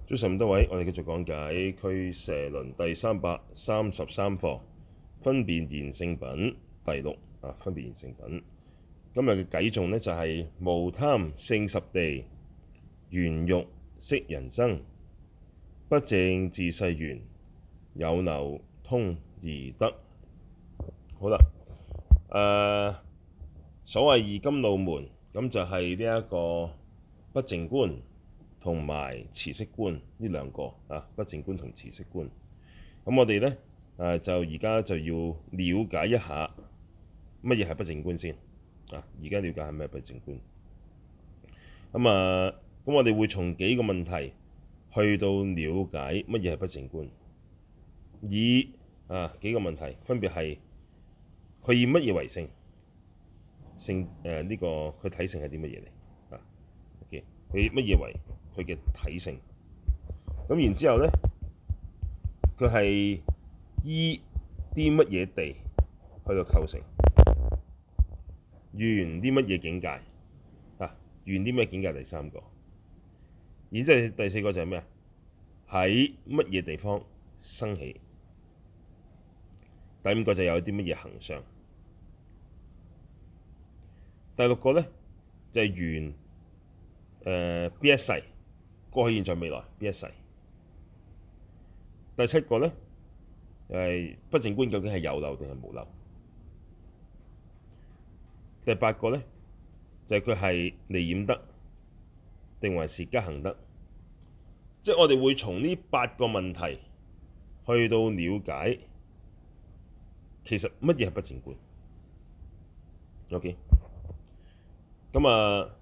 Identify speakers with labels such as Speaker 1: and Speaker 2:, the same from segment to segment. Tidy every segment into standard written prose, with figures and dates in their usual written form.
Speaker 1: 早晨咁多位，我哋繼續講解俱舍論第333課，分別賢聖品第六啊，分別賢聖品。今日嘅偈頌呢，就係、無貪勝十地，緣欲識人生，不淨自世緣，有漏通二得。好啦，所謂二甘露門，咁就係呢一個不淨觀同埋持息觀呢兩個啊，不淨觀同持息觀。咁我哋呢，就而家就要了解一下乜嘢係不淨觀先啊。而家了解係咩不淨觀。咁我哋會從幾個問題去到了解乜嘢係不淨觀。以幾個問題分別係佢以乜嘢為性？性呢個佢體性係啲乜嘢嚟啊？OK，佢以乜嘢為佢嘅體性？咁然之後呢，佢係依啲乜嘢地去到構成？緣啲乜嘢境界啊？緣啲咩境界？第三個，然之後第四個就係咩啊？喺乜嘢地方生起？第五個就有啲乜嘢行相？第六個呢，就係緣邊一世？過去、現在、未來邊一世？第七個呢，不淨觀究竟係有漏定係無漏？第八個呢，就係佢係離染得定還是加行得？即係我哋會從呢八個問題去到了解，其實乜嘢係不淨觀？OK，咁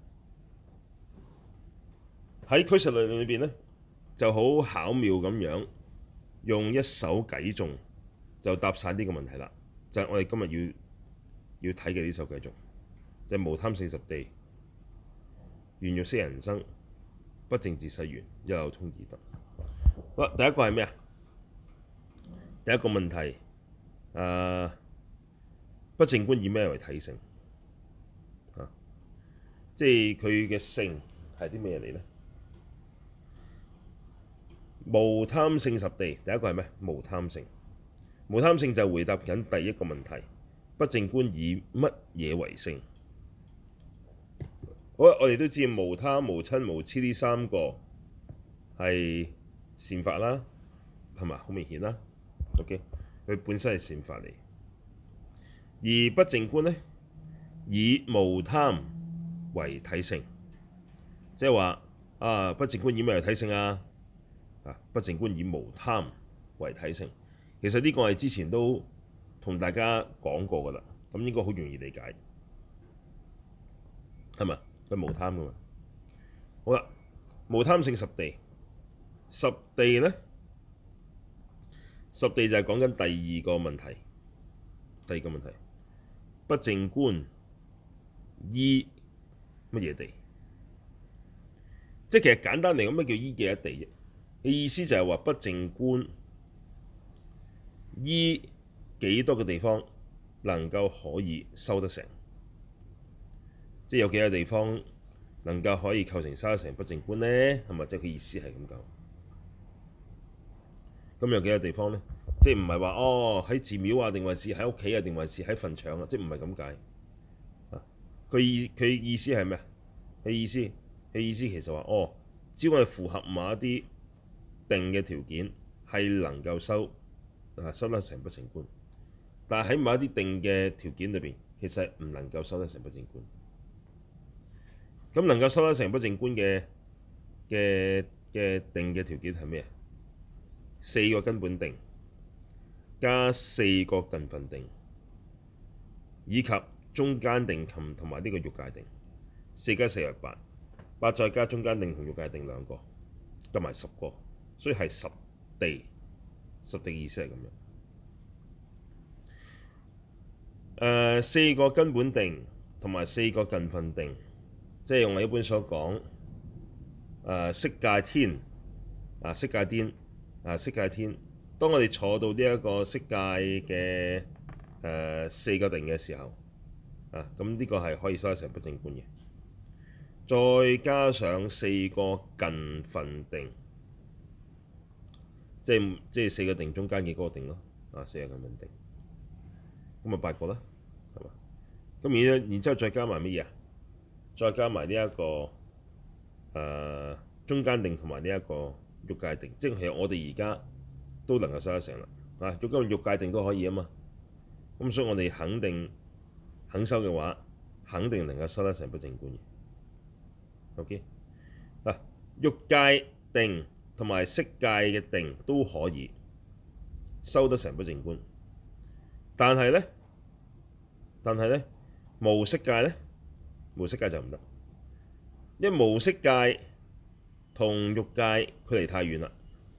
Speaker 1: 喺俱舍論裏邊呢，就好巧妙咁樣用一首偈頌就答晒呢個問題啦。就係我哋今日要睇嘅呢首偈頌，就係無貪勝十地，緣欲識人生，不淨自世緣，有漏通二得。好，第一個係咩啊？第一個問題，不淨觀以咩為體性？即係佢嘅性係啲咩嚟呢？無貪勝十地，第一個係咩？無貪勝。無貪勝就回答緊第一個問題，不淨觀以乜嘢為性？好，我哋都知無貪、無瞋、無痴呢三個係善法啦，係咪好明顯啦？OK，佢本身係善法嚟。而不淨觀呢，以無貪為體性，即係話不淨觀以咩為體性啊？不淨觀以無貪為體性。其實呢個係之前都同大家講過㗎啦，咁應該好容易理解，係咪？佢無貪㗎嘛。好啦，無貪勝十地，十地呢，十地就係講緊第二個問題。第二個問題，不淨觀依乜嘢地？即係其實簡單嚟講，咩叫依幾多地啫？嘅意思就係話不淨觀依幾多個地方能夠可以修得成，即係有幾個地方能夠可以構成修得成不淨觀呢？係咪？即係佢意思係咁講。咁有幾個地方呢？即係唔係話喺寺廟啊，定還是喺屋企啊，定還是喺墳場啊？即係唔係咁解？佢意思係咩啊？佢意思其實話只要我哋符合某一啲定嘅條件，係能夠修得成不淨觀。但係喺某一啲定嘅條件裏邊，其實唔能夠修得成不淨觀。咁能夠修得成不淨觀嘅定嘅條件係咩啊？四個根本定加四個近分定，以及中間定同埋呢個欲界定。4加4係8，8再加中間定同欲界定兩個，加埋10個，所以係十地。十地意思係咁樣。四個根本定同埋四個近分定，即係用我一般所講色界天色界天色界天。當我哋坐到呢一個色界嘅四個定嘅時候，咁呢個係可以修得成不淨觀嘅。再加上四個近分定， 即係四個定中間嘅嗰個定咯，四個咁樣定，咁咪八個啦，係嘛？咁然之後再加埋乜嘢啊？再加埋呢一個中間定同埋呢一個欲界定，即係其實我哋而家都能夠修得成啦，咁今日欲界定都可以啊嘛，咁所以我哋肯修嘅話，肯定能夠修得成不淨觀嘅。OK 嗱，欲界定同埋色界嘅定都可以修得成不淨觀，但係咧無色界咧，無色界就唔得，因為無色界同欲界距離太遠啦，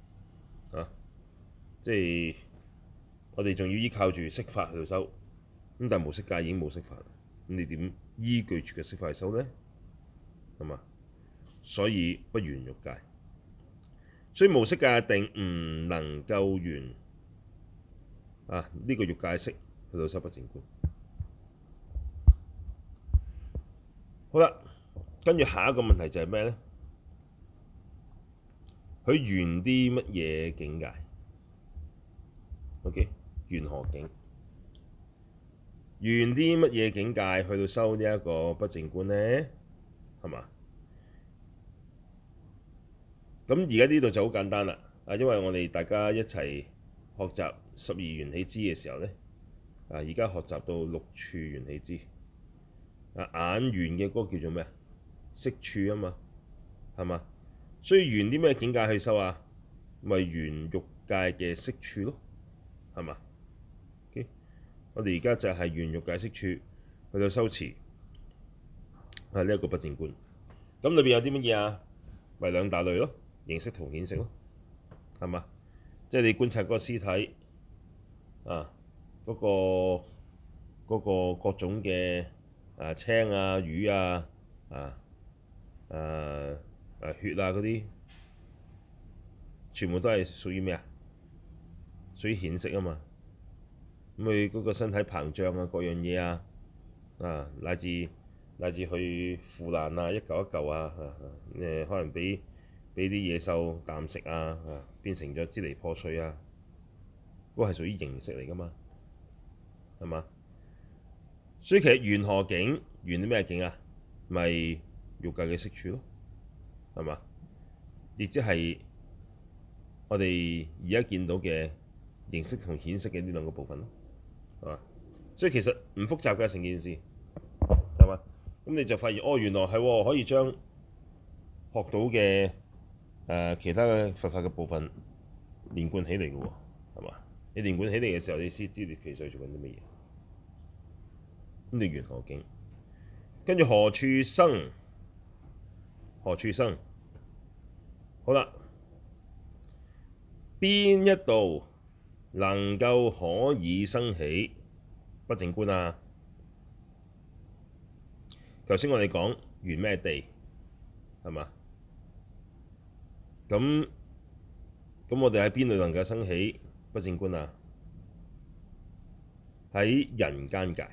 Speaker 1: 即係我哋仲要依靠住色法去到修，咁但係無色界已經冇色法，咁你點依據住嘅色法去修咧？係嘛？所以不緣欲界，所以無色界嘅定唔能夠緣呢個欲界色去到修不淨觀。好啦，跟住下一個問題就係咩咧？佢緣啲乜嘢境界？OK， 緣何境？緣啲乜嘢境界去到修呢一個不淨觀咧？係嘛？咁而家呢度就好簡單啦，因為我哋大家一齊學習十二緣起支嘅時候咧，而家學習到六處緣起支，眼緣嘅嗰個叫做咩啊？色處啊嘛，係嘛？所以緣啲咩境界去修啊？咪緣欲界嘅色處咯，係嘛？OK，我哋而家就係緣欲界色處去到修持呢一個不淨觀。咁裏邊有啲乜嘢啊？咪兩大類咯，形色同顯色咯，係嘛？即係你觀察嗰個屍體嗰個各種嘅青啊、魚啊、血啊嗰啲，全部都係屬於咩啊？屬於顯色啊嘛。咁佢嗰個身體膨脹啊，各樣嘢乃至去腐爛啊，一嚿一嚿可能俾啲野獸啖食變成咗支離破碎啊，嗰個係屬於形色嚟噶嘛，係嘛？所以其實緣何境？緣啲咩境啊？咪欲界嘅色處咯，係嘛？亦即係我哋而家見到嘅形色同顯色嘅呢兩個部分咯，係嘛？所以其實唔複雜嘅成件事，係嘛？咁你就發現原來係可以將學到嘅其他嘅佛法嘅部分連貫起嚟嘅喎，係嘛？你連貫起嚟嘅時候，你先知你其實做緊啲乜嘢。咁你緣何境？跟住何處生？何處生？好啦，邊一度能夠可以生起不淨觀啊？頭先我哋講緣咩地，係嘛？咁我哋喺邊度能夠生起不淨觀啊？喺人間界，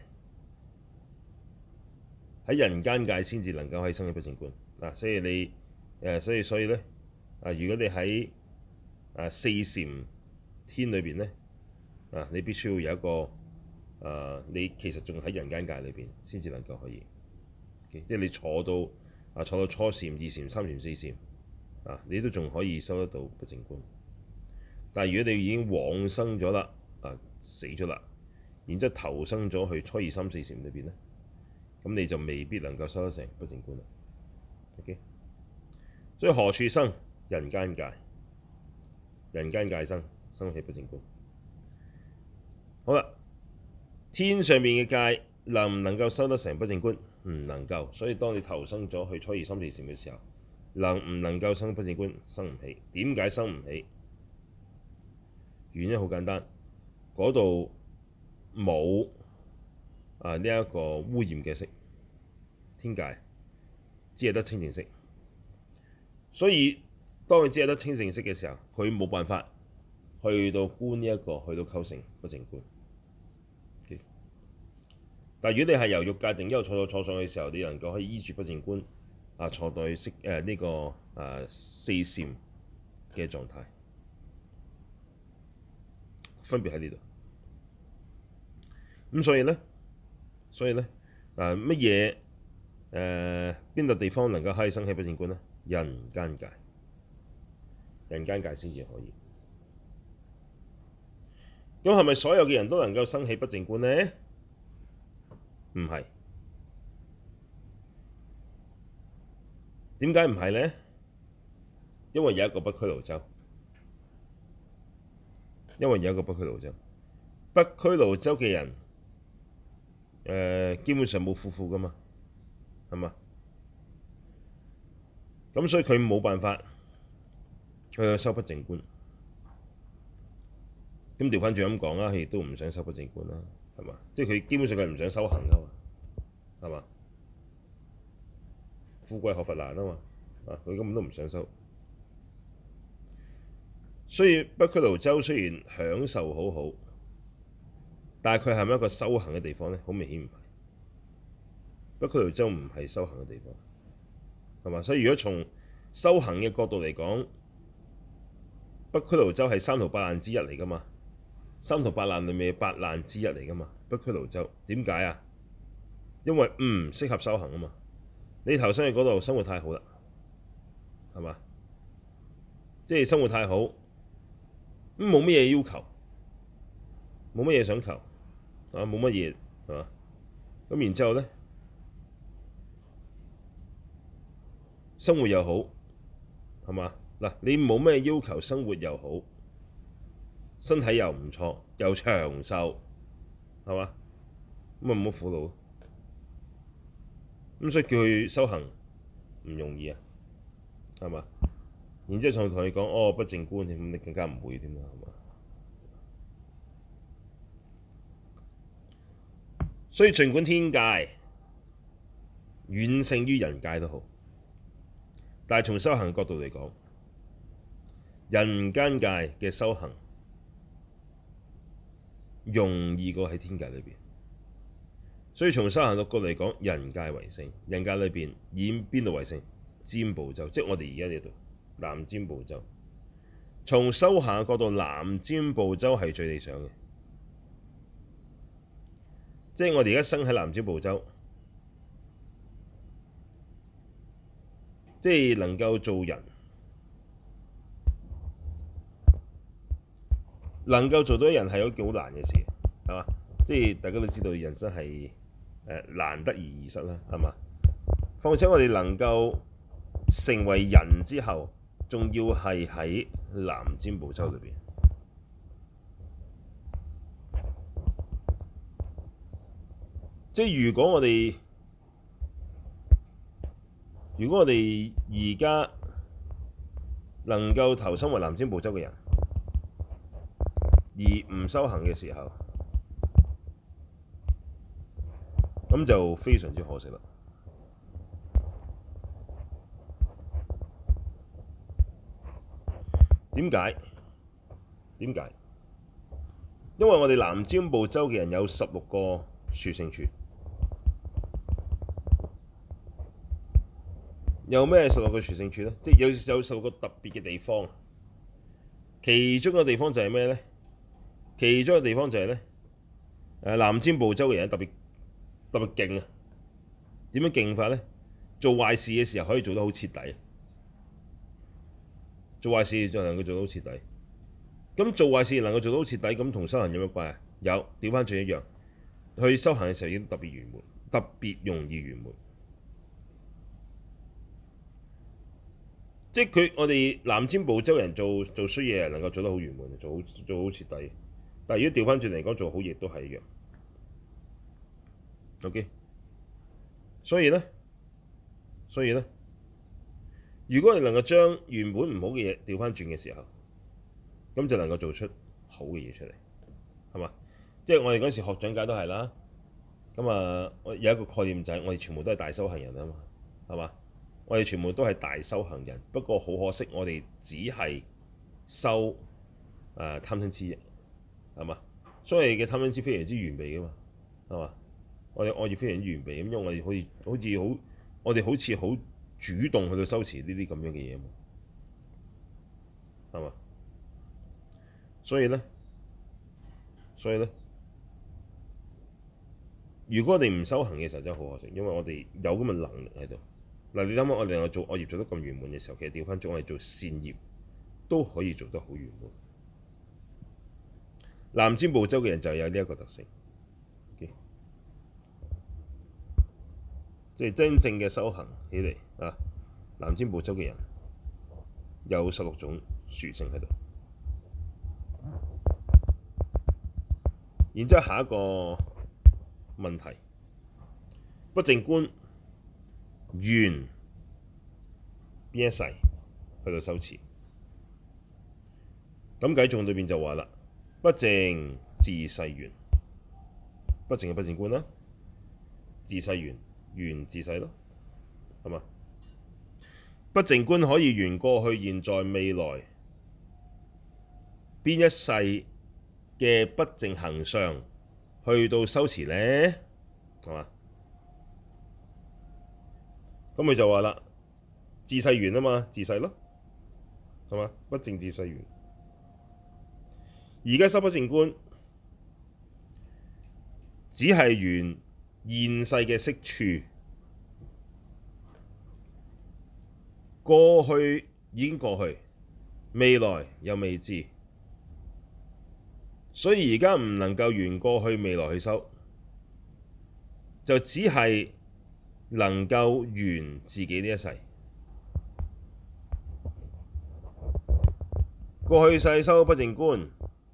Speaker 1: 喺人間界先至能夠可以生起不淨觀。所以你所以咧如果你喺四禪天裏邊咧你必須要有一個你其實仲喺人間界裏邊先至能夠可以，即係你坐到初禪、二禪、三禪、四禪你都仲可以收得到不淨觀。但係如果你已經往生咗啦，死咗啦，然之後投生咗去初二三四禪裏邊咧，咁你就未必能夠收得成不淨觀啦。OK， 所以何處生？人間界，人間界生起不淨觀。好啦，天上面嘅界能唔能夠收得成不淨觀？唔能夠。所以當你投生咗去初二三四禪嘅時候，能唔能夠生不淨觀？生唔起。點解生唔起？原因好簡單，嗰度冇呢一個污染嘅色，天界只係得清淨色。所以當佢只係得清淨色嘅時候，佢冇辦法去到觀呢一個，去到構成不淨觀。Okay? 但係如果你係由欲界定一路坐上去嘅時候，你能夠可以依住不淨觀坐到去呢個四禪嘅狀態。 分別喺呢度。咁所以咧乜嘢邊度地方能夠可以生起不淨觀呢？人間界，人間界先至可以。咁係咪所有嘅人都能夠生起不淨觀呢？唔係。點解唔係呢？因為有一個北俱盧洲，北俱盧洲嘅人基本上冇苦苦噶嘛，係嘛？咁所以佢冇辦法去修不淨觀。咁調翻轉咁講啦，佢亦都唔想修不淨觀啦，係嘛？即係佢基本上佢唔想修行噶嘛，係嘛？富貴學佛難啊嘛，佢根本都唔想修。所以北俱盧洲雖然享受好好，但係佢係咪一個修行嘅地方呢？好明顯唔係。北俱盧洲唔係修行嘅地方，係嘛？所以如果從修行嘅角度嚟講，北俱盧洲係三途八難之一嚟噶嘛？三途八難裏面嘅八難之一嚟噶嘛？北俱盧洲點解啊？因為唔適合修行啊嘛！你投身去嗰度生活太好啦，係嘛？即係生活太好，咁冇乜嘢要求，冇乜嘢想求，冇乜嘢係嘛？咁然之後咧，生活又好，係嘛？嗱，你冇咩要求，生活又好，身體又唔錯，又長壽，係嘛？咁啊唔好苦惱，咁所以叫佢修行唔容易啊，係嘛？然之後仲同你講哦不淨觀，咁你更加唔會添啦，係嘛？所以儘管天界遠勝於人界都好，但係從修行角度嚟講，人間界嘅修行容易過喺天界裏邊。所以從修行角度嚟講，人界為勝。人界裏邊以邊度為勝？贍部洲，即係我哋而家呢度南贍部洲。從修行嘅角度，南贍部洲係最理想嘅。即係我哋而家生喺南贍部洲，即係能夠做人，能夠做到人係一件好難嘅事，係嘛？即係大家都知道人生係難得而易失啦，係嘛？況且我哋能夠成為人之後，仲要係喺南贍部洲裏邊。即係如果我哋而家能夠投身為南贍部洲嘅人，而唔修行嘅時候，咁就非常之可惜啦。點解？因為我哋南贍部洲嘅人有16個殊勝處。有咩16個殊勝處呢？即係有16個特別嘅地方。其中一個地方就係咩呢？其中一個地方就係呢，南贍部洲嘅人特別勁啊！點樣勁法呢？做壞事嘅時候可以做得好徹底。做壞事就能夠做得好徹底。咁做壞事能夠做得好徹底，咁同修行有咩關係？有，調翻轉一樣。去修行嘅時候已經特別圓滿，特別容易圓滿。即係我哋南贍部洲人做衰嘢能夠做得好圓滿，做好徹底。但係如果調翻轉嚟講，做好嘢都係一樣。OK，所以呢，如果你能夠將原本唔好嘅嘢調翻轉嘅時候，咁就能夠做出好嘅嘢出嚟，係嘛？即係我哋嗰時學長解都係啦。咁有一個概念就係我哋全部都係大修行人啊嘛，係嘛？我哋全部都係大修行人，不過好可惜，我哋只係修貪嗔痴啫，係嘛？所以嘅貪嗔痴非常之完備噶嘛，係嘛？我哋愛業非常之完備，咁因為我哋好似好主動去到修持呢啲咁樣嘅嘢嘛，係嘛？所以咧， 所以咧，如果我哋唔修行嘅時候，真係好可惜，因為我哋有咁嘅能力喺度。嗱，你諗下，我哋能夠做惡業做得咁圓滿嘅時候，其實調翻轉我哋做善業都可以做得好圓滿。南贍部洲嘅人就有呢一個特性。Okay? 即係真正嘅修行起嚟啊！南贍部洲嘅人有16種殊勝喺度。然之後下一個問題，不淨觀緣邊一世去到修持？咁偈頌裏邊就話啦，不淨自世緣，不淨係不淨觀啦，自世緣，緣自世咯，係嘛？不淨觀可以緣過去、現在、未來邊一世嘅不淨行相去到修持呢？係嘛？咁佢就話啦，自世緣啊嘛，自世咯，係嘛？不淨自世緣。而家修不淨觀，只係緣現世嘅識處，過去已經過去，未來又未知，所以而家唔能夠緣過去未來去修，就只係能夠緣自己呢一世。過去世修不淨觀，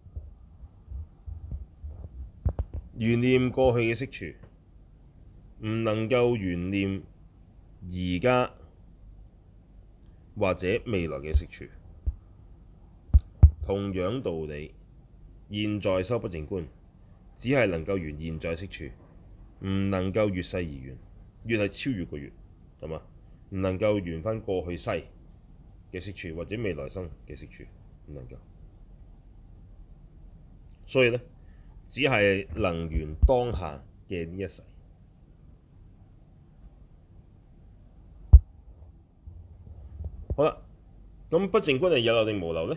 Speaker 1: 緣念過去嘅識處，唔能夠緣念而家或者未來嘅識處。同樣道理，現在修不淨觀，只係能夠緣現在識處，唔能夠越世而緣。越係超越個越，係嘛？唔能夠緣返過去世嘅識處，或者未來生嘅識處，唔能夠。所以呢，只係能緣當下嘅呢一世。好啦，咁不淨觀係有漏定無漏呢？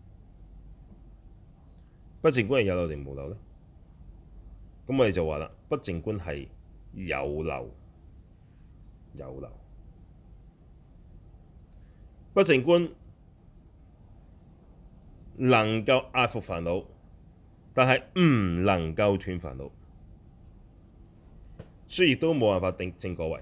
Speaker 1: 不淨觀係有漏定無漏呢？咁我哋就話啦，不淨觀係有漏，有漏。不淨觀能夠壓伏煩惱，但係唔能夠斷煩惱，所以亦都冇辦法定證果位。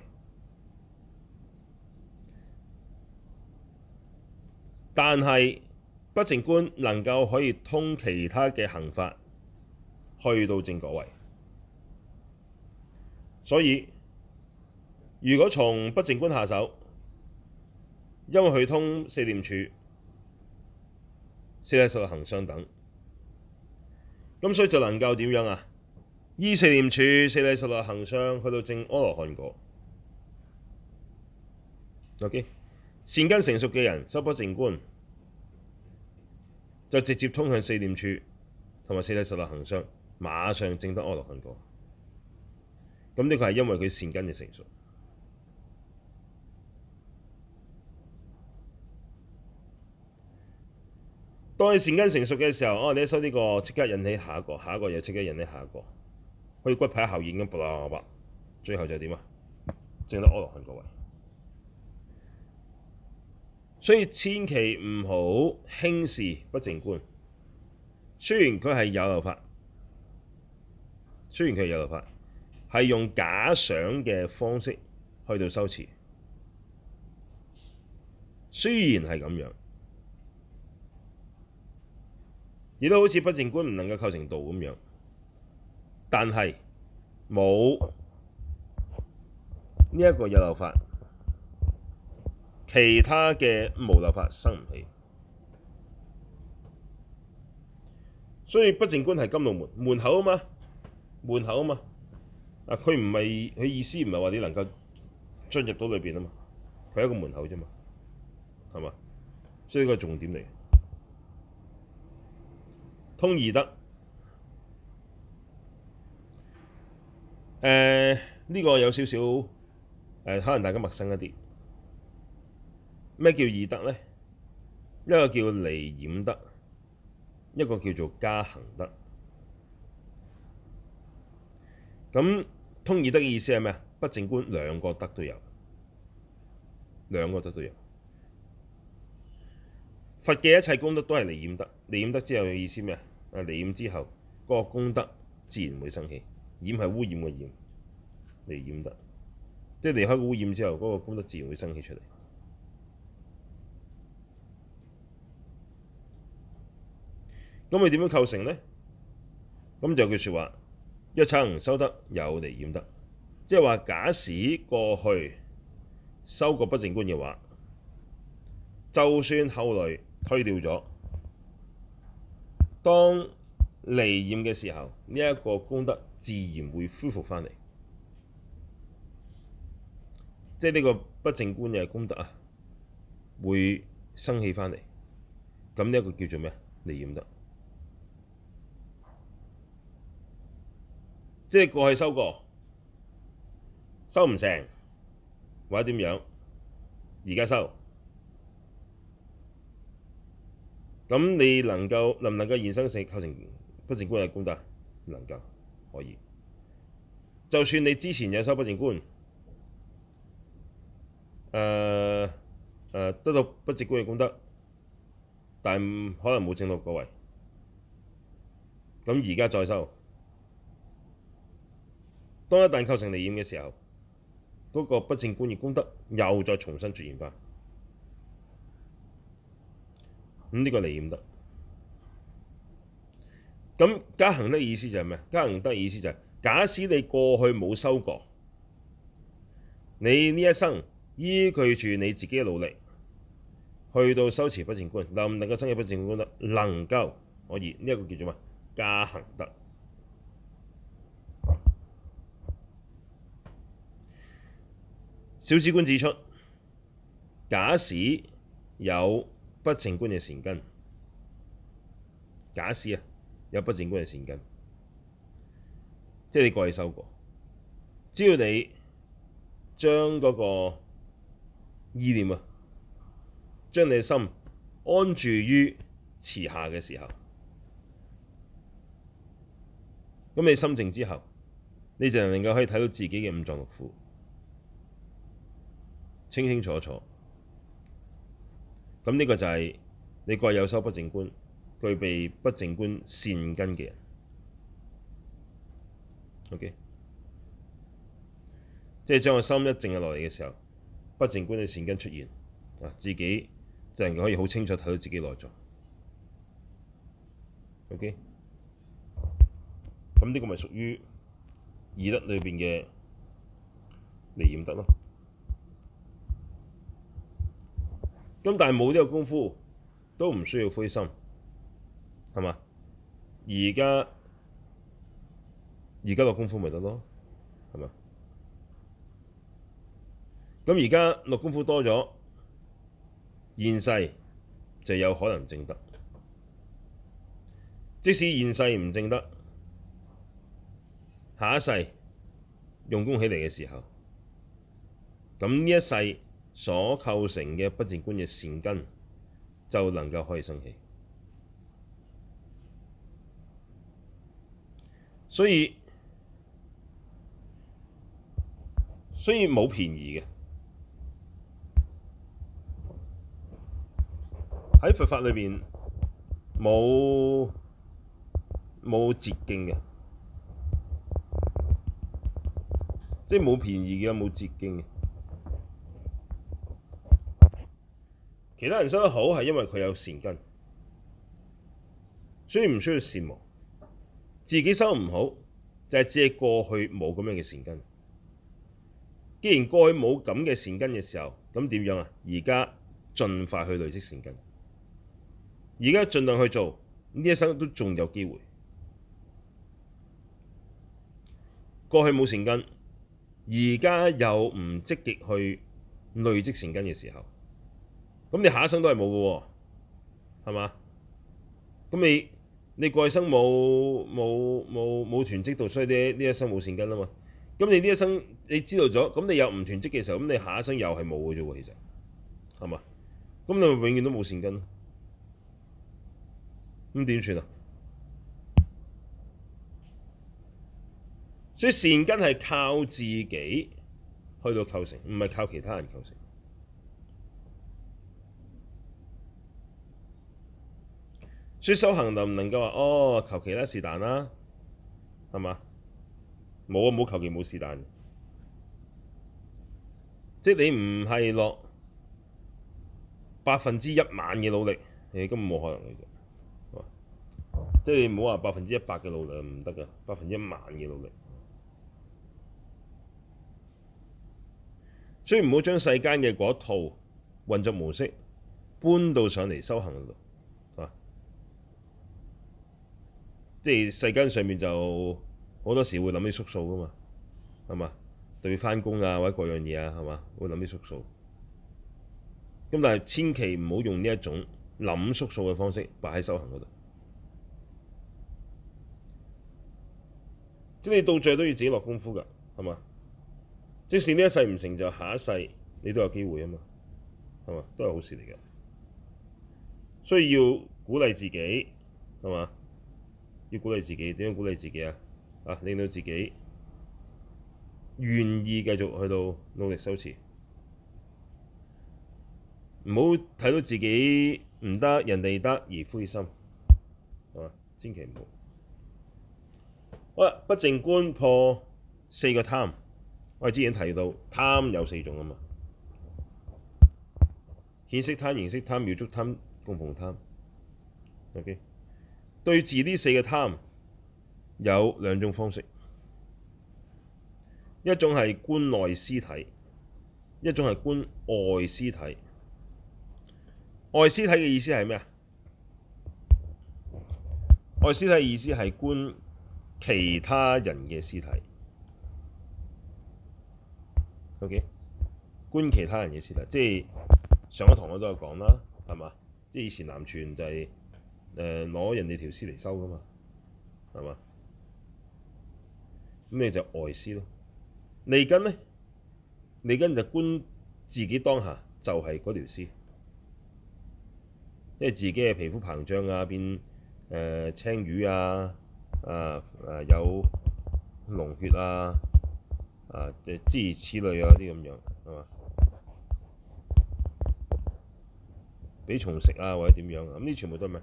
Speaker 1: 但係不淨觀能夠可以通其他嘅行法去到證果位，所以如果從不淨觀下手，因為佢通四念處、四諦十六行相等，咁所以就能夠點樣啊？依四念處、四諦十六行相去到證阿羅漢果。OK， 善根成熟嘅人修不淨觀，就直接通向四念處同埋四諦十六行相，馬上證得阿羅漢果。咁呢個係因為佢善根嘅成熟。當你善根成熟嘅時候，你一修呢個，即刻引起下一個，下一個又即刻引起下一個，好似骨牌效應咁，啵啦啵，最後就點啊？證得阿羅漢果位。所以千祈唔好輕視不淨觀。雖然佢係有漏法，係用假想嘅方式去到修持，雖然係咁樣，亦都好似不淨觀唔能夠構成道咁樣，但係冇呢一個有漏法，其他嘅無漏法生唔起。所以不淨觀係甘露門，門口啊嘛，門口啊嘛。佢唔係，佢意思唔係話你能夠進入到裏邊啊嘛，佢係一個門口啫嘛，係嘛？所以呢個重點嚟。通二德，呢個有少少可能大家陌生一啲。咩叫二德呢？一個叫離染德，一個叫做加行德。 咁通二德嘅意思係咩啊？不淨觀兩個德都有，兩個德都有。佛嘅一切功德都係離染德，離染德之後嘅意思咩啊？離染之後嗰個功德自然會生起，染係污染嘅染，離染德，即係離開個污染之後，嗰個功德自然會生起出嚟。咁佢點樣構成呢？咁就有句説話：一曾修得有離染德，即係話假使過去修過不淨觀嘅話，就算後來退掉咗，當離染嘅時候，呢一個功德自然會恢復返嚟，即係呢個不淨觀嘅功德啊，會生起返嚟。咁呢一個叫做咩啊？離染德。即係過去修過，修唔成或者點樣，而家修，咁你能唔能夠現生成構成不淨觀嘅功德？能夠，可以。就算你之前有修不淨觀，得到不淨觀嘅功德，但可能冇證到果位，咁而家再修，當一旦構成離染嘅時候，嗰個不淨觀嘅功德又再重新出現返。咁呢個離染德。咁加行德意思就係咩？加行德意思就係假使你過去冇修過，你呢一生依據住你自己嘅努力去到修持不淨觀，能唔能夠生起不淨觀功德？能夠，可以。呢一個叫做咩？加行德。小止觀指出，假使有不淨觀嘅善根，假使有不淨觀嘅善根，即係你過去修過，只要你將嗰個意念將你嘅心安住於持下嘅時候，咁你心靜之後，你就能夠可以睇到自己嘅五臟六腑清清楚楚。咁呢個就係你過去有修不淨觀，具備不淨觀善根嘅人。OK，即係將個心一靜落嚟嘅時候，不淨觀嘅善根出現，自己就能夠可以好清楚睇到自己內在。OK，咁呢個咪屬於二德裏邊嘅離染德咯。咁但係冇呢個功夫都唔需要灰心，係嘛？而家落功夫咪得咯，係嘛？咁而家落功夫多咗，現世就有可能證得。即使現世唔證得，下一世用功起嚟嘅時候，咁呢一世所構成嘅不淨觀嘅善根就能夠可以生起。所以冇便宜嘅，喺佛法裏邊冇捷徑嘅，即係冇便宜嘅，冇捷徑嘅。其他人修得好係因為佢有善根，所以唔需要羨慕。自己修唔好就係只係過去冇咁樣嘅善根。既然過去冇咁嘅善根嘅時候，咁點樣啊？而家盡快去累積善根，而家盡量去做，呢一生都仲有機會。過去冇善根，而家又唔積極去累積善根嘅時候，咁你下一生都係冇嘅喎，係嘛？咁你過去生冇囤積到，所以呢一生冇善根啊嘛。咁你呢一生你知道咗，咁你又唔囤積嘅時候，咁你下一生又係冇嘅啫喎，其實係嘛？咁你咪永遠都冇善根咯。咁點算啊？ 所以善根係靠自己去到構成，唔係靠其他人構成。所以修行能唔能夠話哦求其啦是但啦，係嘛？冇啊，冇求其冇是但。即係你唔係落100%嘅努力，你根本冇可能嘅啫。即係你唔好話100%嘅努力唔得㗎，100%嘅努力。所以唔好將世間嘅嗰套運作模式搬到上嚟修行嗰度，係嘛？即係世間上面就好多時會諗啲縮數㗎嘛，係嘛？對返工啊或者各樣嘢啊，係嘛？會諗啲縮數。咁但係千祈唔好用呢一種諗縮數嘅方式擺喺修行嗰度。即係你到最後都要自己落功夫㗎，係嘛？即使呢一世唔成就，下一世你都有機會啊嘛，係嘛？都係好事嚟嘅。所以要鼓勵自己，係嘛？要鼓勵自己，點樣鼓勵自己啊？啊，令到自己願意繼續去到努力修持，唔好睇到自己唔得，人哋得而灰心，係嘛？千祈唔好。好啦，不淨觀破4個貪。我哋之前提到貪有4種啊嘛，顯色貪、形色貪、妙觸貪、供奉貪。OK，對治呢4個貪有2種方式，一種係觀內屍體，一種係觀外屍體。外屍體嘅意思係咩啊？外屍體嘅意思係觀其他人嘅屍體。OK，觀其他人嘅屍體，即係上一堂我都有講啦，係嘛？即係以前南傳就係攞人哋條屍嚟收噶嘛，係嘛？咁你就外屍咯。利根咧，利根就觀自己當下就係嗰條屍，即係自己嘅皮膚膨脹啊，變青瘀啊，有膿血啊，諸如此類啊啲咁樣，係嘛？俾蟲食啊或者點樣啊，咁呢全部都係咩？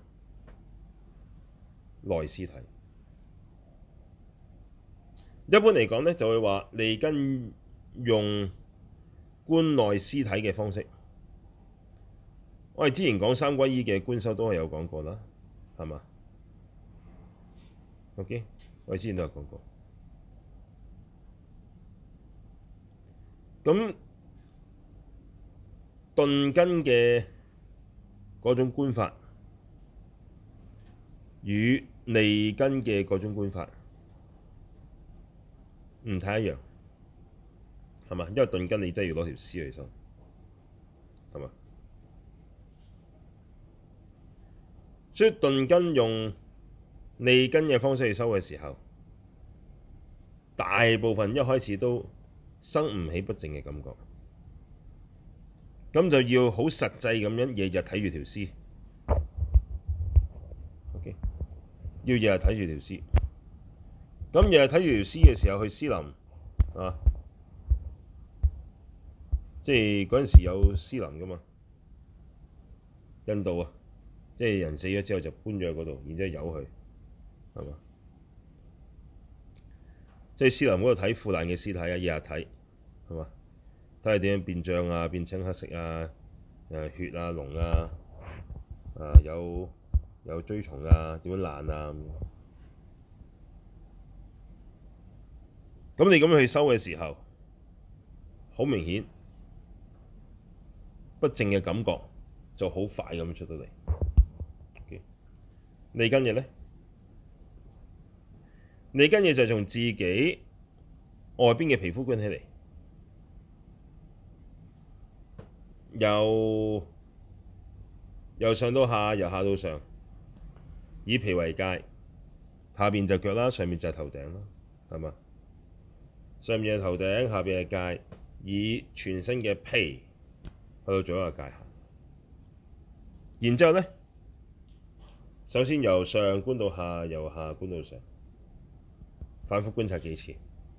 Speaker 1: 內屍體。一般嚟講咧，就會話利根用觀內屍體嘅方式。我哋之前講三皈依嘅觀修都係有講過啦，係嘛？OK，我哋之前都有講過。咁頓根嘅嗰種觀法，與利根嘅嗰種觀法唔太一樣，係嘛？因為頓根你真係要攞條屍去收，係嘛？所以頓根用利根嘅方式去收嘅時候，大部分一開始都生唔起不淨嘅感覺，咁就要好實際咁樣日日睇住條屍。OK，要日日睇住條屍。咁日日睇住條屍嘅時候去屍林啊，即係嗰陣時有屍林噶嘛，印度啊，即係人死咗之後就搬咗去嗰度，然之後由佢，係嘛？即係屍林嗰度睇腐爛嘅屍體啊，日日睇，係嘛？睇下點樣變脹啊，變青黑色啊，血啊膿啊，有蛆蟲啊，點樣爛啊？咁你咁樣去收嘅時候，好明顯不淨嘅感覺就好快咁出到嚟。利根嘅咧，利根嘅就係從自己外邊嘅皮膚觀起嚟，由上到下，由下到上，以皮為界，下邊就腳啦，上面就係頭頂啦，係嘛？上面係頭頂，下邊係界，以全身嘅皮去到做一個界限。然之後咧，首先由上觀到下，由下觀到上，反覆觀察幾次。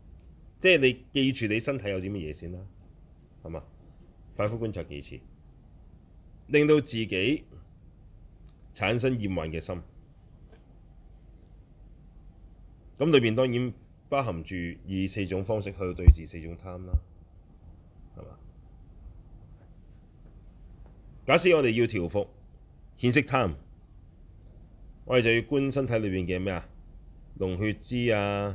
Speaker 1: 即係你記住你身體有啲乜嘢先啦，係嘛？反覆觀察幾次，令到自己產生厭患嘅心。咁裏邊當然包含住以四種方式去對治四種貪啦，係嘛？假使我哋要調伏顯色貪，我哋就要觀身體裏邊嘅咩啊？膿血脂啊、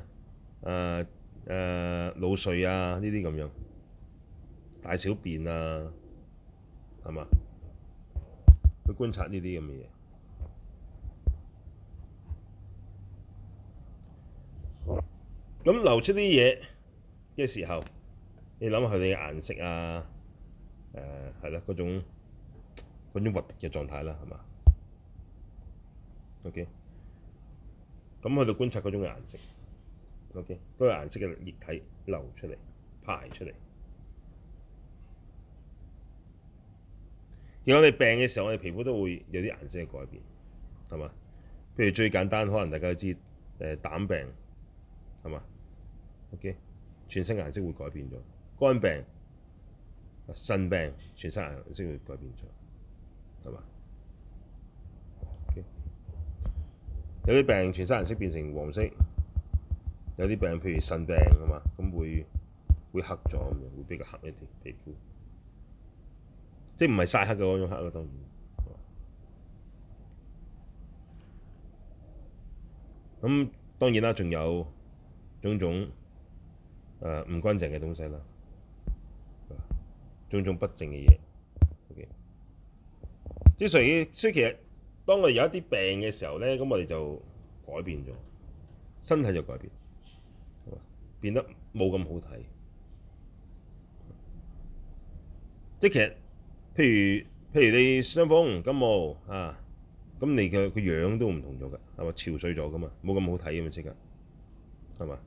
Speaker 1: 腦髓啊呢啲咁樣，大小便啊，係嘛？去觀察呢啲咁嘅嘢。咁流出啲嘢嘅時候，你諗下佢哋嘅顏色啊，係啦，嗰種核突嘅狀態啦，係嘛？OK，咁去到觀察嗰種顏色，OK，嗰個顏色嘅液體流出嚟、排出嚟。而我哋病嘅時候，我哋皮膚都會有啲顏色嘅改變，係嘛？譬如最簡單，可能大家都知膽病，係嘛？OK，全身顏色會改變咗。肝病、腎病，全身顏色會改變咗，係嘛？OK，有啲病全身顏色變成黃色，有啲病譬如腎病，係嘛？咁會黑咗咁樣，會比較黑一啲皮膚，即係唔係曬黑嘅嗰種黑咯，當然。咁當然啦，仲有種種唔乾淨嘅東西啦，種種不淨嘅嘢。OK，所以其實當我哋有一啲病嘅時候咧，咁我哋就改變咗，身體就改變，變得冇咁好睇。即係其實譬如你傷風感冒啊，咁你嘅個樣都唔同咗㗎，係嘛？憔悴咗㗎嘛，冇咁好睇㗎嘛，即刻係嘛？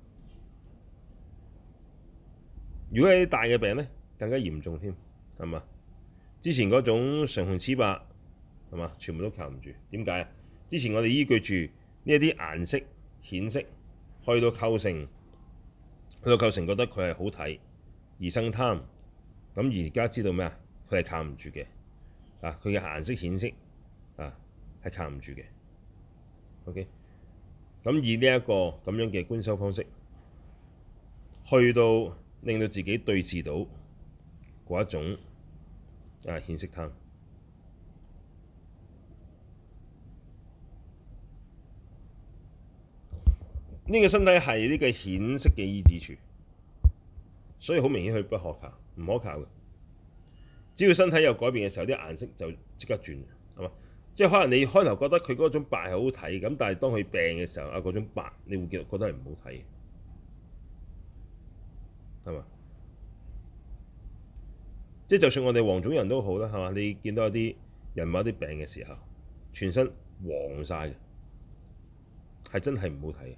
Speaker 1: 如果係啲大嘅病咧，更加嚴重添，係嘛？之前嗰種唇紅齒白係嘛，全部都靠唔住。點解啊？之前我哋依據住呢一啲顏色顯色，去到構成覺得佢係好睇而生貪。咁而家知道咩啊？佢係靠唔住嘅啊！佢嘅顏色顯色啊，係靠唔住嘅。OK，咁以呢一個咁樣嘅觀修方式，去到令到自己對治到嗰一種顯色貪。呢個身體係呢個顯色嘅依止處，所以好明顯佢不可靠，唔可靠嘅。只要身體有改變嘅時候，啲顏色就即刻轉，係嘛？即係可能你開頭覺得佢嗰種白係好睇，咁但係當佢病嘅時候，嗰種白你會覺得係唔好睇，係嘛？即係就算我哋黃種人都好啦，係嘛？你見到有啲人某啲病嘅時候，全身黃晒嘅，係真係唔好睇嘅。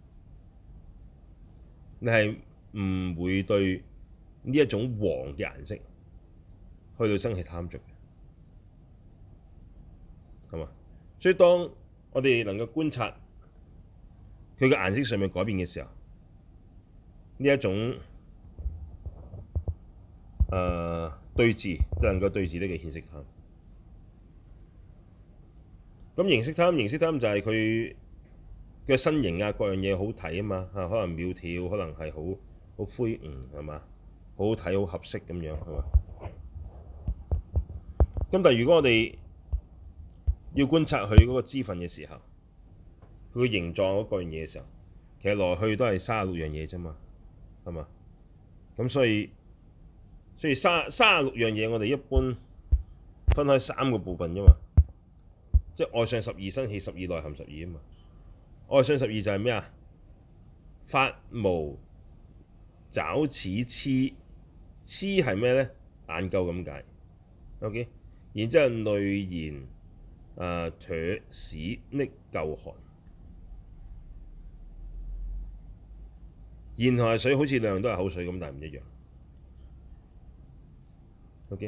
Speaker 1: 你係唔會對呢一種黃嘅顏色去到生起貪着嘅，係嘛？所以當我哋能夠觀察佢嘅顏色上面改變嘅時候，呢一種對治就能夠對治呢個顯色貪。咁形色貪就係佢嘅身形啊，各樣嘢好睇啊嘛，可能苗條，可能係好魁梧，係嘛？好好睇，好合適咁樣，係嘛？咁但係如果我哋要觀察佢嗰個支分嘅時候，佢嘅形狀嗰個樣嘢嘅時候，其實來去都係36樣嘢啫嘛，係嘛？咁所以36樣嘢，我哋一般分開3個部分啫嘛，即係外相12、生起12、內含12啊嘛。外相12就係咩啊？髮毛爪齒螭，螭係咩咧？眼垢咁解。OK，然之後淚涎唾屎溺垢寒，涎同係水好似兩樣都係口水咁，但係唔一樣。OK，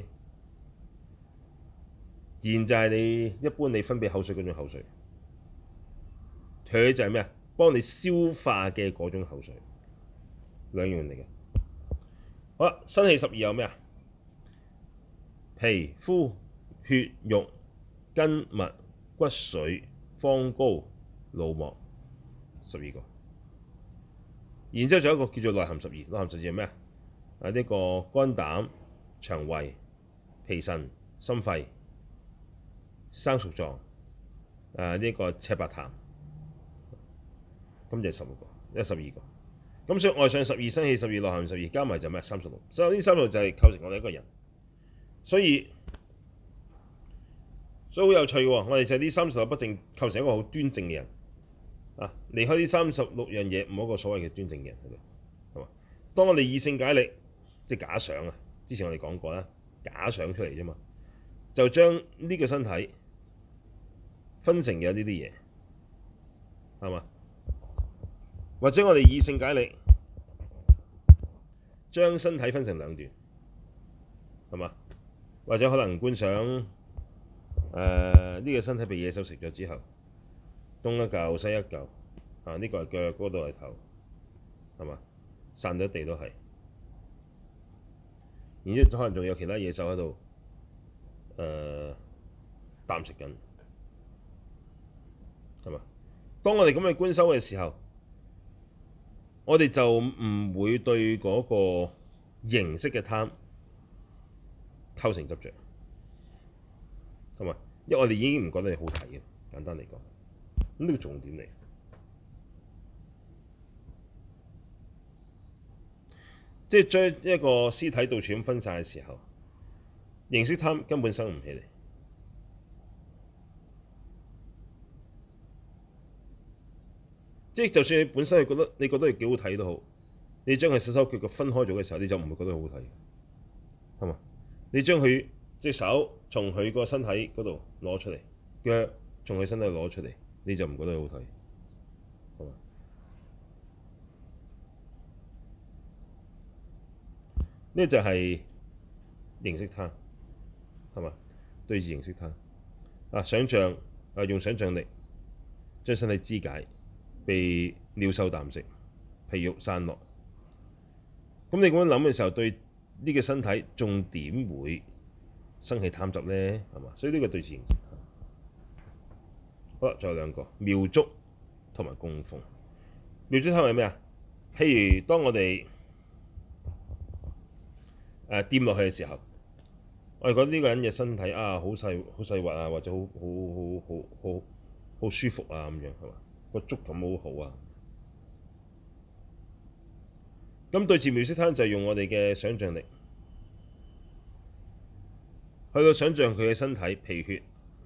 Speaker 1: 涎就係你一般你分泌口水嗰種口水，唾就係咩啊？幫你消化嘅嗰種口水， 兩樣嚟嘅。好啦，身氣12有咩啊？皮膚、血肉、筋脈、骨髓、方膏、腦膜，12個。然之後仲有一個叫做內含12，內含12係咩啊？呢個肝膽、腸胃、脾腎、心肺、生熟狀，呢個赤白痰，咁就係16個，因為12個。咁所以外上12，身氣12，內含12，加埋就咩？36。所以呢36就係構成我哋一個人。所以好有趣喎，我哋就係呢36不正構成一個好端正嘅人啊！離開呢36樣嘢，冇一個所謂嘅端正嘅人喺度，係嘛？當我哋以性解力，即係假想啊！之前我哋講過啦，假想出嚟啫嘛，就將呢個身體分成咗呢啲嘢，係嘛？或者我哋以性解力將身體分成兩段，係嘛？或者可能觀想呢個身體被野獸食咗之後，東一嚿西一嚿，呢個係腳，嗰度係頭，係嘛？散咗地都係，然之後可能仲有其他野獸喺度啖食緊，係嘛？當我哋咁去觀修嘅時候，我哋就唔會對嗰個形式嘅貪構成執着，係嘛？因為我哋已經唔覺得你好睇嘅，簡單嚟講，咁呢個重點嚟。即係將一個屍體到處咁分散嘅時候，形式貪根本生唔起嚟。即係就算你本身係覺得佢幾好睇都好，你將佢手手腳腳分開咗嘅時候，你就唔會覺得好好睇，係嘛？你將佢隻手從佢個身體嗰度攞出嚟，腳從佢身體攞出嚟，你就唔覺得好睇，係嘛？呢個就係形式貪，係嘛？對治形式貪想像用想像力將身體肢解，被鳥獸啖食，皮肉散落。咁你咁樣諗嘅時候，對呢個身體仲點會生起貪執呢？係嘛？所以呢個對治形式貪。好啦，仲有兩個妙觸同埋供奉。妙觸貪係咩啊？譬如當我哋掂落去嘅時候，我哋覺得呢個人嘅身體好細滑啊，或者好舒服啊，咁樣係嘛？個觸感好好啊。咁對治妙觸貪就係用我哋嘅想像力去到想像佢嘅身體皮血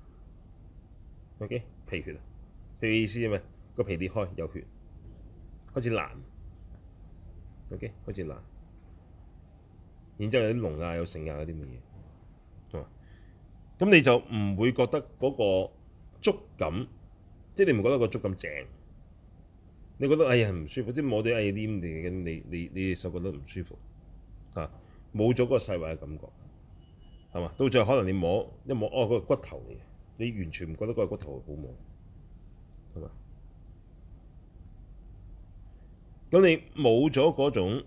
Speaker 1: ，OK， 皮血啊，皮嘅意思係咩？個皮裂開有血，開始爛，OK， 開始爛，然之後有啲膿有剩嗰啲咁嘅嘢，咁你就唔會覺得嗰個觸感，即係你唔覺得個觸感正，你覺得哎呀唔舒服，即係摸啲黏地嘅，你手覺得唔舒服冇咗嗰個細滑嘅感覺。係嘛？到最後可能你摸一摸，嗰個骨頭嚟嘅，你完全唔覺得嗰個骨頭好摸，係嘛？咁你冇咗嗰種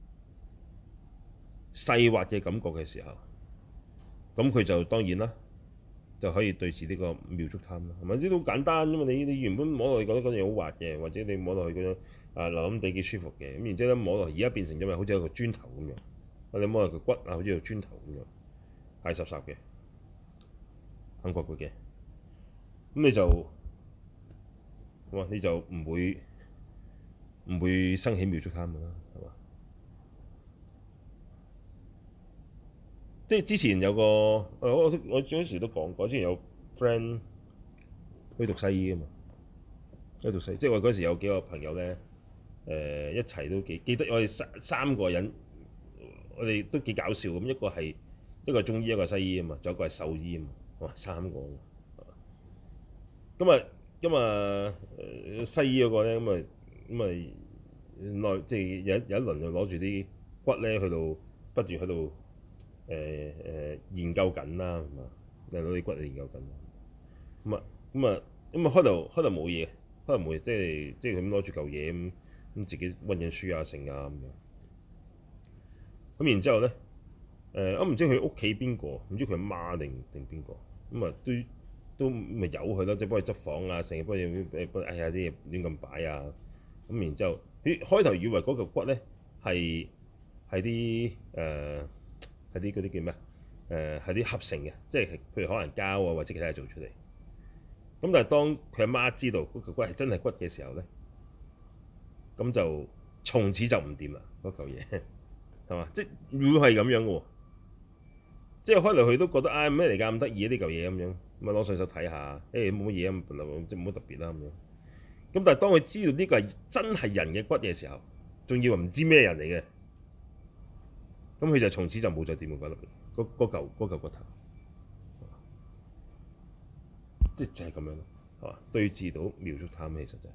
Speaker 1: 細滑嘅感覺嘅時候，咁佢就當然啦，就可以對治呢個妙觸貪啦。係咪？呢啲好簡單啫嘛！你原本摸落去覺得嗰樣好滑嘅，或者你摸落去嗰種腍腍地幾舒服嘅，咁然之後咧摸落去，而家變成咗咪好似一個磚頭咁樣，你摸落佢骨好似個磚頭咁樣。係濕濕嘅，硬骨骨嘅，咁你就唔會生起妙觸貪㗎啦，係嘛？即係之前有個我嗰時都講過，之前有 friend 去讀西醫㗎嘛，去讀西醫，即係我嗰時有幾個朋友咧，一齊都記得我哋三個人，我哋都幾搞笑咁，一個中醫，一個西醫啊嘛，仲有一個係獸醫啊嘛，哇，三個。咁西醫嗰個咧，即係有一輪就攞住啲骨咧去到不斷喺度研究緊啦，係嘛？攞啲骨嚟研究緊。開頭冇嘢，即係佢咁攞住嚿嘢咁自己溫緊書啊成啊咁樣。 咁然之後咧，我唔知佢屋企邊個，唔知佢阿媽定邊個，咁啊都咪由佢咯，即係幫佢執房啊，成日幫佢哎呀啲嘢亂咁擺啊，咁然之後，佢開頭以為嗰嚿骨咧係啲係啲嗰啲叫咩係啲合成嘅，即係譬如可能膠啊或者其他嘢做出嚟。咁但係當佢阿媽知道嗰嚿骨係真係骨嘅時候咧，咁就從此就唔掂啦嗰嚿嘢，係嘛？即係會係咁樣嘅喎。即係開頭佢都覺得啊咩嚟㗎咁得意呢嚿嘢咁樣，咁啊攞上手睇下，誒冇乜嘢咁，即係冇乜特別啦咁樣。咁但係當佢知道呢個係真係人嘅骨嘅時候，仲以為唔知咩人嚟嘅，咁佢就從此就冇再掂過骨入邊嗰嚿骨頭，即係就係咁樣咯，係嘛？對治到妙觸貪其實就係。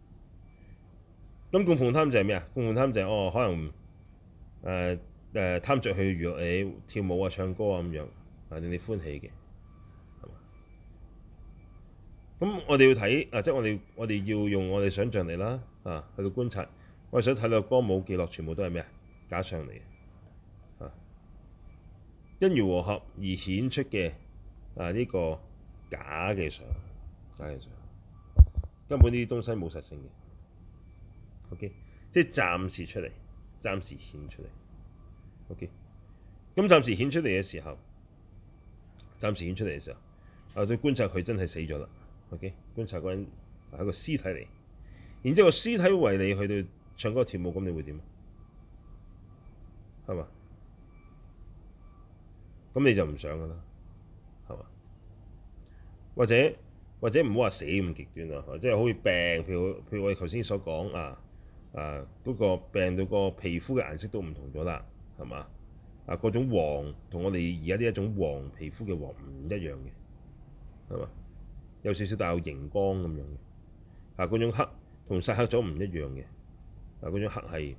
Speaker 1: 咁供奉貪就係咩啊？供奉貪就係可能貪着去娛樂你跳舞啊、唱歌啊咁樣，令你歡喜嘅，係嘛？咁我哋要睇即係我哋要用我哋想像力啦，去到觀察，我哋想睇到歌舞伎樂全部都係咩啊？假相嚟嘅，因緣和合而顯出嘅呢個假嘅相，根本呢啲東西冇實性嘅，OK，即係暫時出嚟，暫時顯出嚟，OK，咁暫時顯出嚟嘅時候，對觀察佢真係死咗啦，OK，觀察嗰人係個屍體嚟，然之後個屍體為你去到唱歌跳舞，咁你會點？係嘛？咁你就唔想噶啦，係嘛？或者唔好話死咁極端啦，即係好似病，譬如我哋頭先所講嗰個病到個皮膚嘅顏色都唔同咗啦，係嘛？嗰種黃同我哋而家呢一種黃皮膚嘅黃唔一樣嘅，係嘛？有少少帶有熒光咁樣嘅，嗰種黑同曬黑咗唔一樣嘅，嗰種黑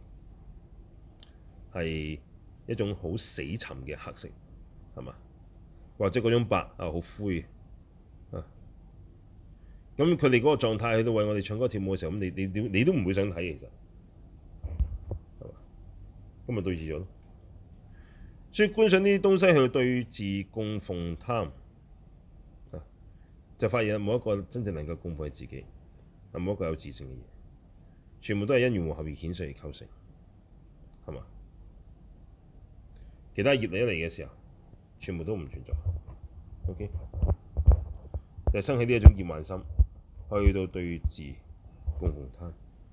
Speaker 1: 係一種好死沉嘅黑色，係嘛？或者嗰種白好灰啊，咁佢哋嗰個狀態喺度為我哋唱歌跳舞嘅時候，咁你都唔會想睇其實，係嘛？咁咪對治咗咯。所以觀賞呢啲東西去對治供奉貪，就發現冇一個真正能夠供奉自己，冇一個有自性嘅嘢，全部都係因緣和合而顯現而構成，係嘛？其他業力一嚟嘅時候，全部都唔存在。OK，就生起呢一種厭患心，去到對治供奉貪。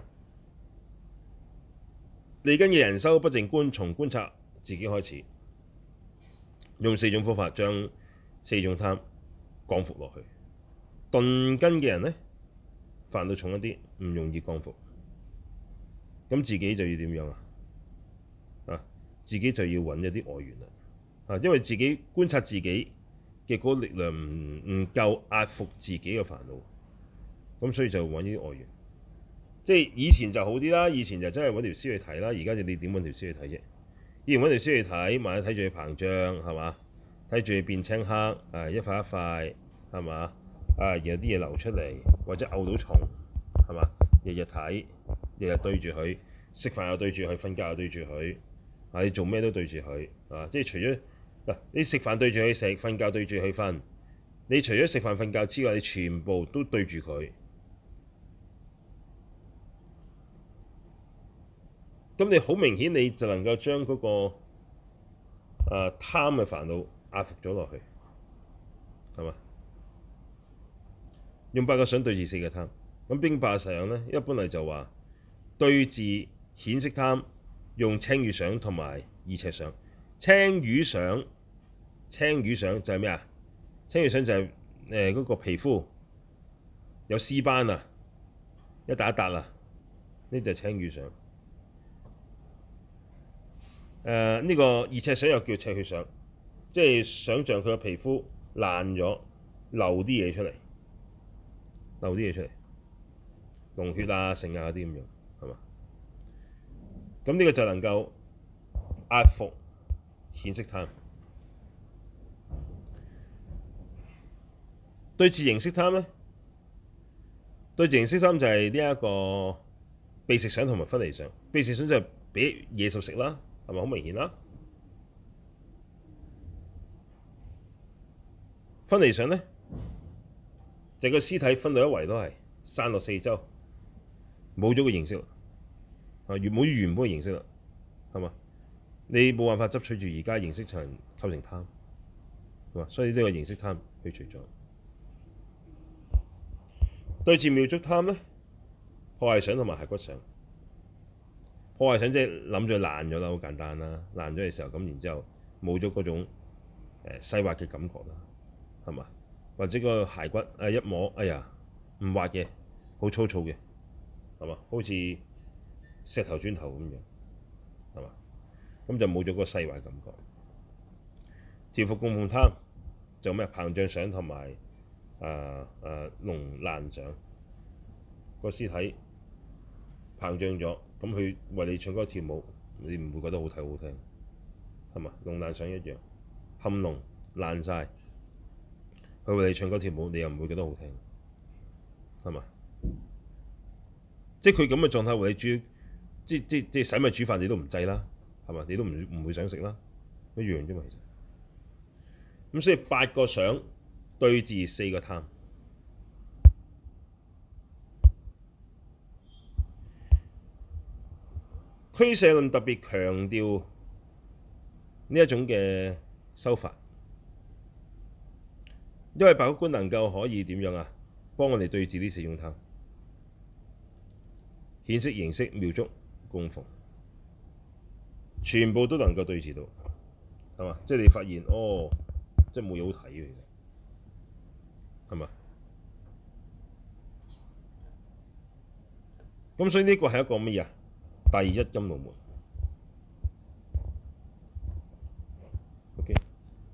Speaker 1: 利根嘅人修不淨觀，從觀察自己開始，用4種方法將4種貪降伏落去。鈍根嘅人呢，煩惱重一啲，唔容易降伏，咁自己就要點樣啊？自己就要揾一啲外緣啦，因為自己觀察自己嘅嗰個力量唔夠壓服自己嘅煩惱，咁所以就揾呢啲外緣。即係以前就好啲啦，以前就真係揾條屍去睇啦，而家就你點揾條屍去睇啫？以前揾條屍去睇，萬一睇住佢膨脹係嘛？睇住佢變青黑，一塊一塊係嘛？然後啲嘢流出嚟，或者嘔到蟲係嘛？日日睇，日日對住佢，食飯又對住佢，瞓覺又對住佢，你做咩都對住佢即係除咗你食飯對住佢食，瞓覺對住佢瞓，你除咗食飯瞓覺之外，你全部都對住佢。咁你好明顯，你就能夠將嗰個貪嘅煩惱壓服咗落去，係嘛？用8個相對治4個貪。咁邊8個相咧？一般嚟就話對治顯色貪，用青瘀相同埋意赤相。青瘀相就係咩啊？青瘀相就係嗰個皮膚有屍斑啊，一笪一笪啊，呢就係青瘀相。呢個意赤相又叫赤血相，即係想像佢個皮膚爛咗，流啲嘢出嚟，膿血啊、剩啊嗰啲咁樣，係嘛？咁呢個就能夠壓服顯色貪。對治形色貪咧，對治形色貪就係呢一個被食相同埋分離相。被食相就係俾野獸食啦，係咪好明顯啦？ 分離想咧，就個屍體分到一圍都係散落四周，冇咗個形式啦，冇原本嘅形式啦，係嘛？你冇辦法執取住而家形式層構成貪，係嘛？所以呢個形式貪去除咗。對治妙觸貪咧，破壞想同埋骸骨想。破壞想即係諗住爛咗啦，好簡單啦。爛咗嘅時候，咁然之後冇咗嗰種細滑嘅感覺啦，係嘛？或者個骸骨一摸，哎呀唔滑嘅，好粗糙嘅，係嘛？好似石頭磚頭咁樣，係嘛？咁就冇咗個細滑感覺。調伏供奉貪就咩膨脹想同埋焓爛想，個屍體膨脹咗，咁佢為你唱歌跳舞，你唔會覺得好睇好聽，係嘛？焓爛想一樣，冚焓爛晒，佢為你唱歌跳舞，你又唔會覺得好聽，係嘛？即係佢咁嘅狀態為你煮，即洗米煮飯你都唔制啦，係嘛？你都唔會想食啦，一樣啫嘛，其實。咁所以8個想對治4個貪。俱舍論特別強調呢一種嘅修法，因為白骨觀能夠可以點樣啊？幫我哋對治呢4種貪：顯色、形色、妙觸、供奉，全部都能夠對治到，係嘛？即係你發現哦，即係冇嘢好睇嘅，其實係嘛？咁所以呢個係一個乜嘢啊？第一甘露門。OK，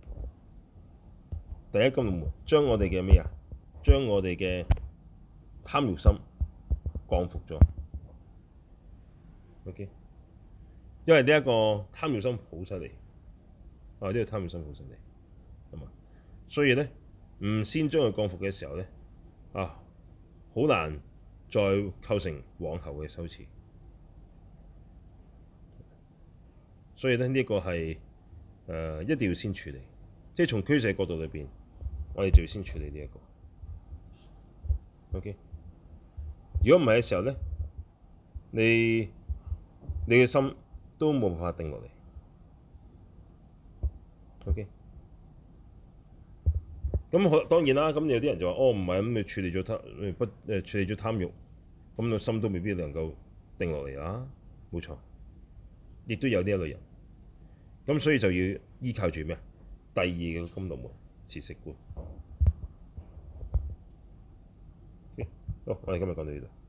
Speaker 1: 第一甘露門將我哋嘅咩啊？將我哋嘅貪欲心降伏咗。OK， 因為呢一個貪欲心好犀利，呢個貪欲心好犀利，係嘛？所以咧，唔先將佢降伏嘅時候咧，好難再構成往後嘅修持。所以咧，呢個係一定要先處理，即係從俱舍角度裏邊，我哋就要先處理呢一個。OK， 如果唔係嘅時候咧，你嘅心都冇辦法定落嚟。OK， 咁當然啦，咁有啲人就話：哦，唔係，咁你處理咗處理咗貪欲，咁個心都未必能夠定落嚟啦。冇錯，亦都有呢一類人。咁所以就要依靠住咩？第二個甘露門，持息觀。好，我哋今日講到呢度。